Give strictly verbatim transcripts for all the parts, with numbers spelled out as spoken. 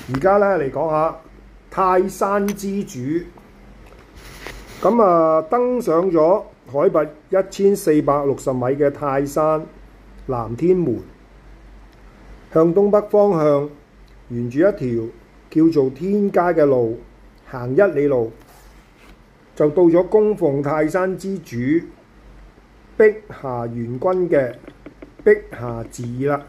而家咧嚟講下泰山之主，咁啊登上咗海拔一千四百六十米嘅泰山南天門，向東北方向沿住一條叫做天街嘅路行一里路，就到咗供奉泰山之主碧霞元君嘅碧霞寺啦。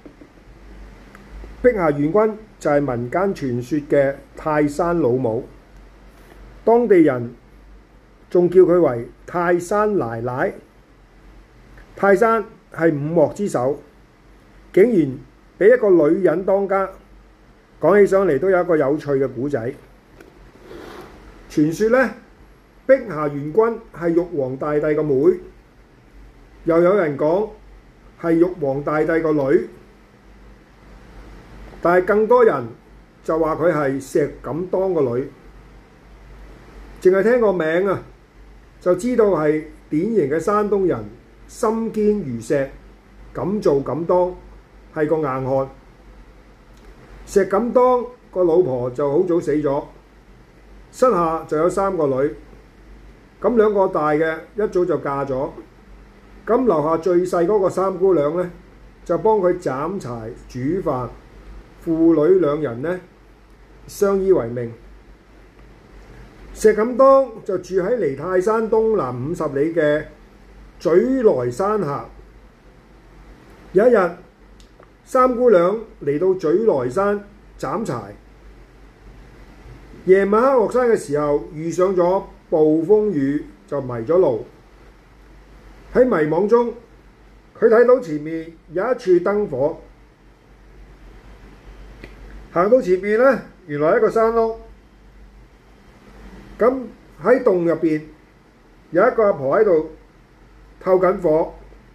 碧霞元君就係民間傳說嘅泰山老母，當地人仲叫佢為泰山奶奶。泰山係五岳之首，竟然俾一個女人當家，講起上嚟都有一個有趣嘅故仔。傳說呢，碧霞元君係玉皇大帝個妹，又有人講係玉皇大帝個女。但係更多人就話佢係石敢當個女，淨係聽個名啊，就知道係典型嘅山東人，心堅如石，敢做敢當，係個硬漢。石敢當個老婆就好早死咗，膝下就有三個女，咁兩個大嘅一早就嫁咗，咁留下最細嗰個三姑娘呢，就幫佢斬柴煮飯。父女兩人呢，相依為命。石敢當就住喺離泰山東南五十里嘅嘴來山下。有一日，三姑娘嚟到嘴來山斬柴，夜晚黑落山嘅時候遇上咗暴風雨，就迷咗路。喺迷惘中，佢睇到前面有一處燈火。行到前面呢，原來係一個山窿。咁喺洞入邊有一個阿婆喺度透緊火。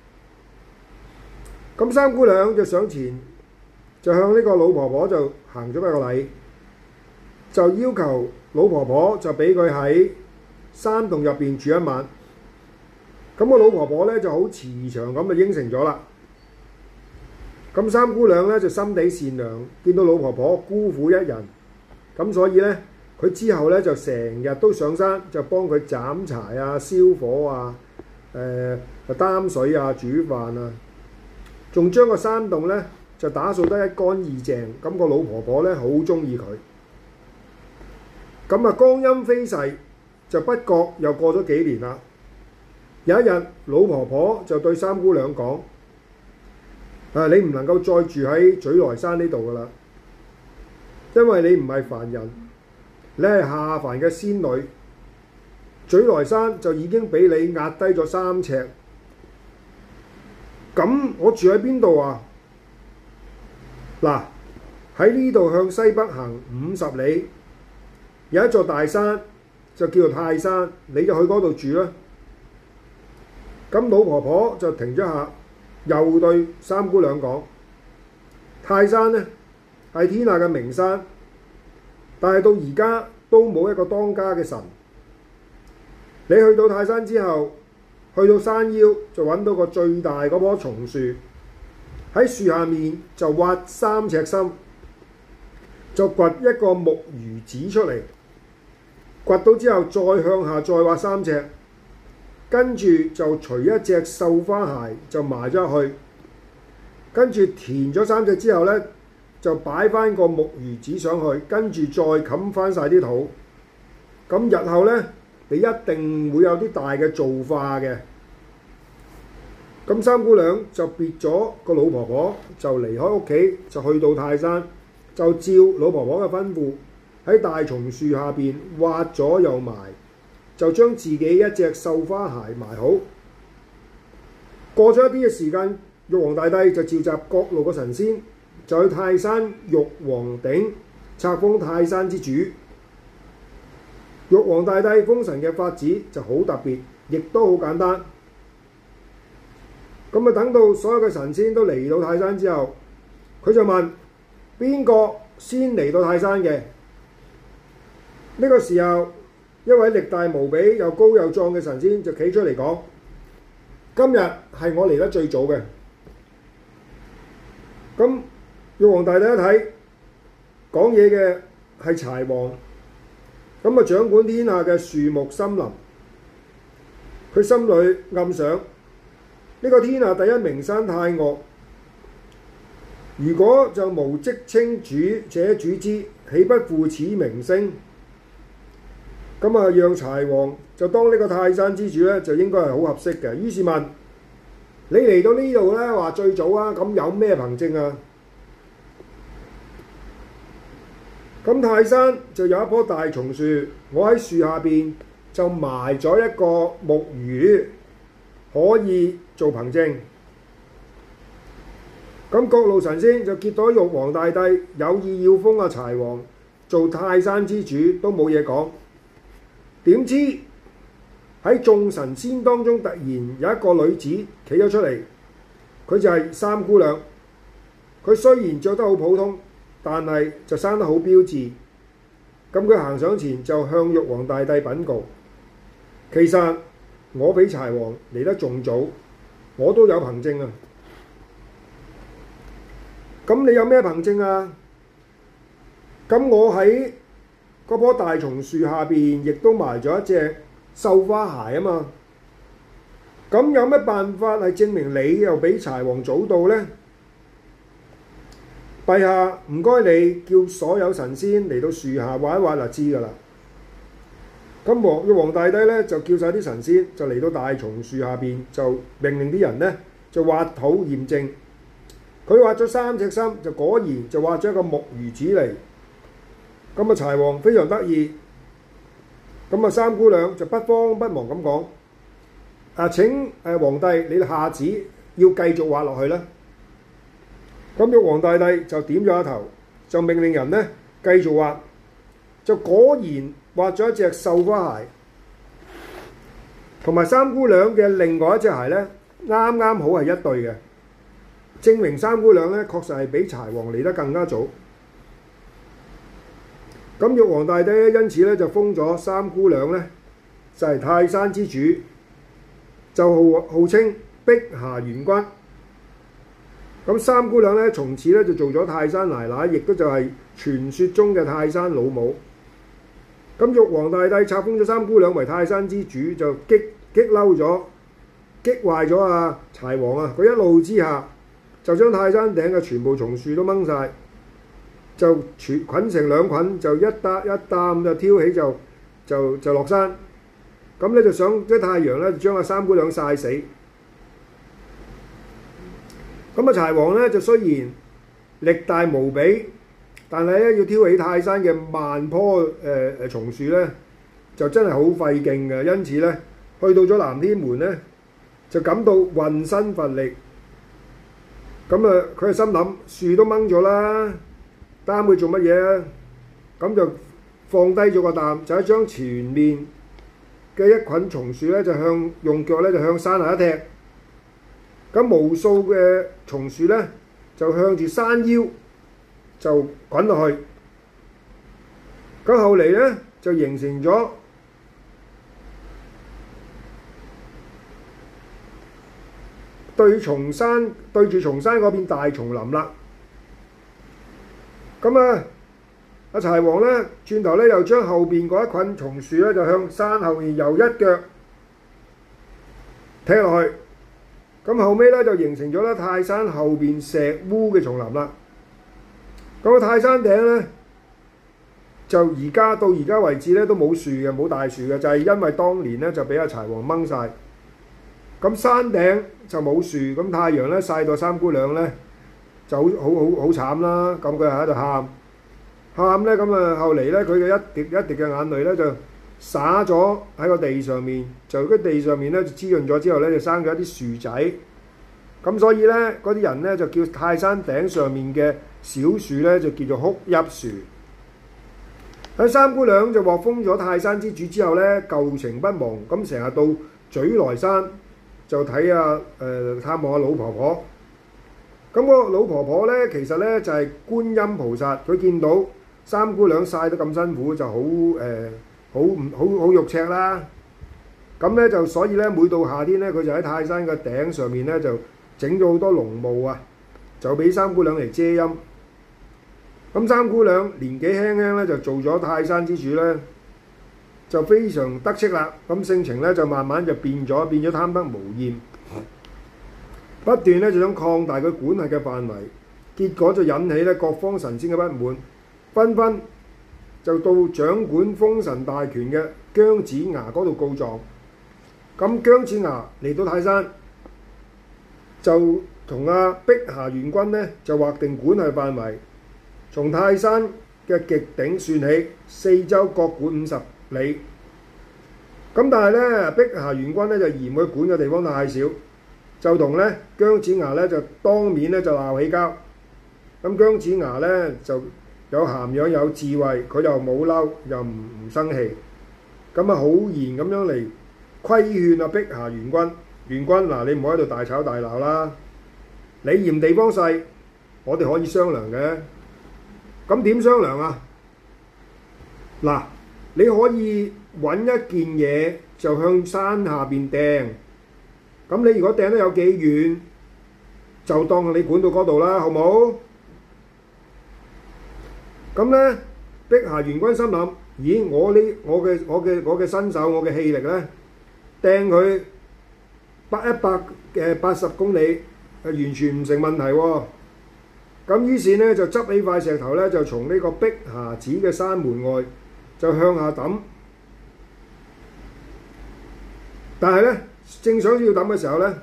咁三姑娘就上前，就向呢個老婆婆就行咗一個禮，就要求老婆婆就俾佢喺山洞入邊住一晚。咁個老婆婆呢就好慈祥咁就應承咗啦。咁三姑娘咧就心地善良，見到老婆婆孤苦一人，咁所以咧佢之後咧就成日都上山，就幫佢斬柴啊、燒火啊、誒、呃、擔水啊、煮飯啊，仲將個山洞咧就打掃得一乾二淨。咁個老婆婆咧好中意佢。咁啊，光陰飛逝，就不覺又過咗幾年啦。有一日，老婆婆就對三姑娘講：啊！你唔能夠再住喺嘴來山呢度噶啦，因為你唔係凡人，你係下凡嘅仙女。嘴來山就已經俾你壓低咗三尺，咁我住喺邊度啊？嗱，喺呢度向西北行五十里，有一座大山，就叫做泰山，你就去嗰度住啦。咁老婆婆就停咗下。又對三姑娘講：泰山呢係天下嘅名山，但係到而家都冇一個當家嘅神。你去到泰山之後，去到山腰就揾到個最大嗰棵松樹，喺樹下面就挖三尺深，就掘一個木魚子出嚟，掘到之後再向下再挖三尺。跟住就除一隻繡花鞋就埋咗入去，跟住填咗三隻之後呢，就擺翻個木魚子上去，跟住再冚翻晒啲土。咁日後呢，你一定會有啲大嘅造化嘅。咁三姑娘就別咗個老婆婆，就離開屋企，就去到泰山，就照老婆婆嘅吩咐，喺大松樹下邊挖咗又埋。就將自己一隻繡花鞋埋好。過咗一啲嘅時間，玉皇大帝就召集各路嘅神仙，就去泰山玉皇頂冊封泰山之主。玉皇大帝封神嘅法子就好特別，亦都好簡單。咁啊，等到所有嘅神仙都嚟到泰山之後，佢就問邊個先嚟到泰山嘅？呢個時候，一位力大無比又高又壯嘅神仙就企出嚟講：今日係我嚟得最早嘅。咁玉皇大帝一睇， 講嘢嘅係柴王，咁啊掌管天下嘅樹木森林。佢心裏暗想：呢、這個天下第一名山太岳，如果就無職稱主者主之，豈不負此名聲？咁啊，讓柴王就當呢個泰山之主咧，就應該係好合適嘅。於是問：你嚟到呢度咧，話最早啊，咁有咩憑證啊？咁泰山就有一棵大松樹，我喺樹下邊就埋咗一個木魚，可以做憑證。咁各路神仙就見到玉皇大帝有意要封阿柴王做泰山之主，都冇嘢講。點知喺眾神仙當中，突然有一個女子企咗出嚟，佢就係三姑娘。佢雖然着得好普通，但係就生得好標緻。咁佢行上前就向玉皇大帝稟告：其實我比柴王嚟得仲早，我都有憑證啊！咁你有咩憑證啊？咁我喺嗰棵大松樹下邊，亦都埋咗一隻繡花鞋啊嘛。咁有乜辦法係證明你又比柴王早到呢？陛下，唔該你叫所有神仙嚟到樹下畫一畫就知㗎啦。咁皇玉皇大帝咧就叫晒啲神仙就嚟到大松樹下邊，就命令啲人咧就挖土驗證。佢挖咗三尺深，就果然就挖咗一個木魚子嚟。咁啊柴王非常得意。咁啊三姑娘就不慌不忙咁講：啊請誒皇帝你下旨要繼續挖落去啦。咁玉皇大帝就點咗一頭，就命令人咧繼續挖，就果然挖咗一隻繡花鞋，同埋三姑娘嘅另外一隻鞋咧，啱啱好係一對嘅，證明三姑娘咧確實係比柴王嚟得更加早。咁玉皇大帝咧因此咧就封咗三姑娘咧就係泰山之主，就號號稱碧霞元君。咁三姑娘咧，從此咧就做咗泰山奶奶，亦都就係傳說中嘅泰山老母。咁玉皇大帝冊封咗三姑娘為泰山之主，就激激嬲咗、激壞咗啊柴王啊！佢一怒之下就將泰山頂嘅全部松樹都掹晒，就捆捆成兩捆，就一擔一擔就挑起就就就落山。咁咧就想啲太陽咧就將阿三姑娘曬死。咁啊柴王咧就雖然力大無比，但係咧要挑起泰山嘅萬棵誒誒松樹咧，就真係好費勁嘅。因此咧，去到咗南天門咧，就感到渾身乏力。咁啊，佢係心諗樹都掹咗啦，擔佢做乜嘢啊？咁就放低咗個擔，就係將前面嘅一捆松樹咧，就向用腳咧就向山下一踢。咁無數嘅松樹咧，就向住山腰就滾落去。咁後嚟咧就形成咗對松山對住松山嗰邊大松林啦。咁啊，阿柴王咧轉頭咧又將後邊嗰一捆松樹咧就向山後面又一腳踢落去。咁後尾咧就形成咗咧泰山後邊石烏嘅叢林啦。咁個泰山頂咧就而家到而家為止咧都冇樹嘅，冇大樹嘅，就係因為當年咧就俾阿柴王掹晒。咁山頂就冇樹，咁太陽咧曬到三姑娘咧就好好好好慘啦。咁佢喺度喊喊咧，咁啊後嚟咧佢嘅一滴一滴嘅眼淚咧就灑咗喺個地上面，就嗰地上面咧就滋潤咗之後咧就生咗一啲樹仔。咁所以咧嗰啲人咧就叫泰山頂上面嘅小樹咧就叫做哭泣樹。喺三姑娘就獲封咗泰山之主之後咧，舊情不忘，咁成日到嘴來山就睇下誒探望下老婆婆。咁個老婆婆咧其實咧就係觀音菩薩，佢見到三姑娘曬得咁辛苦，就好誒好唔好好肉赤啦。咁咧就所以咧每到夏天咧，佢就喺泰山嘅頂上面咧就整咗好多濃霧啊，就俾三姑娘嚟遮陰。 咁三姑娘年紀輕輕咧就做咗泰山之主咧，就非常得戚啦。咁性情咧就慢慢就變咗，變咗貪得無厭，不斷咧就想擴大佢管轄嘅範圍，結果就引起咧各方神仙嘅不滿，紛紛就到掌管封神大權嘅姜子牙嗰度告狀。咁姜子牙嚟到泰山，就同阿碧霞元君咧就劃定管轄範圍，從泰山嘅極頂算起，四周各管五十里。咁但係咧，碧霞元君咧就嫌佢管嘅地方太少，就同咧姜子牙咧就當面咧就鬧起交。咁姜子牙咧就有涵養有智慧，佢又冇嬲，又唔唔生氣，咁啊好言咁樣嚟規勸阿碧霞元君。元君嗱，你唔好喺度大吵大鬧啦，你嫌地方細，我哋可以商量嘅。咁點商量啊？嗱，你可以揾一件嘢就向山下邊掟，咁你如果掟得有幾遠，就當你管到嗰度啦，好冇？咁咧，碧霞元君心諗：咦，我呢，我嘅我嘅我嘅身手，我嘅氣力咧，掟佢百一百嘅八十公里，係完全唔成問題喎。咁於是咧就執起塊石頭咧，就從呢個碧霞寺嘅山門外就向下抌。但係咧，正想要抌嘅時候咧，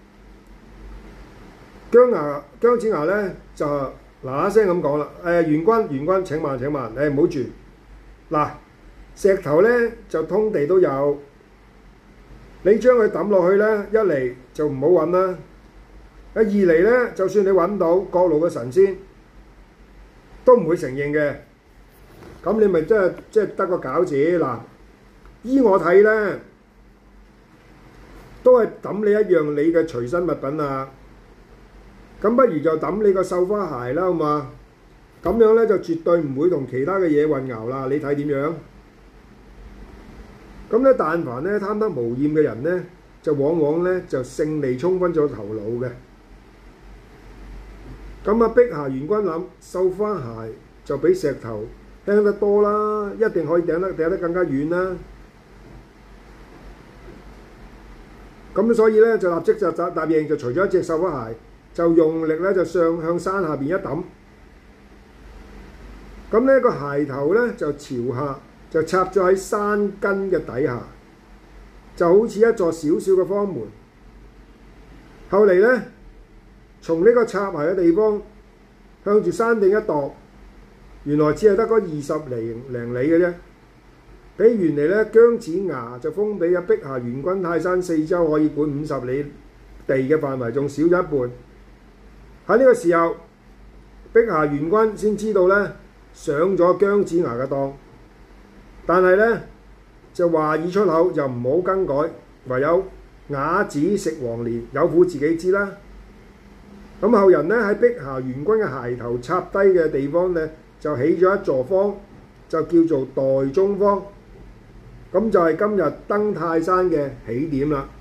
姜牙姜子牙咧就嗱嗱聲咁講啦：誒、呃、元君元君請慢請慢，誒唔好住。嗱，石頭咧就通地都有，你將佢抌落去咧，一嚟就唔好揾啦。二嚟咧，就算你揾到各路嘅神仙，都唔會承認嘅。咁你咪真係即係得個餃子嗱。依我睇咧，都係抌你一樣你嘅隨身物品啊。咁不如就抌你個繡花鞋啦，好嘛？咁樣咧就絕對唔會同其他嘅嘢混淆啦。你睇點樣？咁咧，但凡咧貪得無厭嘅人咧，就往往咧就勝利沖昏咗頭腦嘅。咁啊，碧霞元君諗繡花鞋就比石頭輕得多啦，一定可以掟得掟得更加遠啦。咁所以咧就立即就答答應，就除咗一隻繡花鞋，就用力咧就上向山下邊一抌。咁呢個鞋頭咧就朝下，就插咗喺山根嘅底下，就好似一座小小嘅方門。後嚟咧，從呢個插鞋嘅地方向住山頂一度，原來只係得嗰二十零零里嘅啫。比原嚟咧姜子牙就封俾阿碧霞元君泰山四周可以管五十里地嘅範圍，仲少咗一半。喺呢個時候，碧霞元君先知道咧上咗姜子牙嘅當，但係咧就話已出口，就唔好更改，唯有啞子食黃連，有苦自己知啦。咁後人咧喺碧霞元君嘅鞋頭插低嘅地方咧，就起咗一座坊，就叫做代中坊。咁就係今日登泰山嘅起點啦。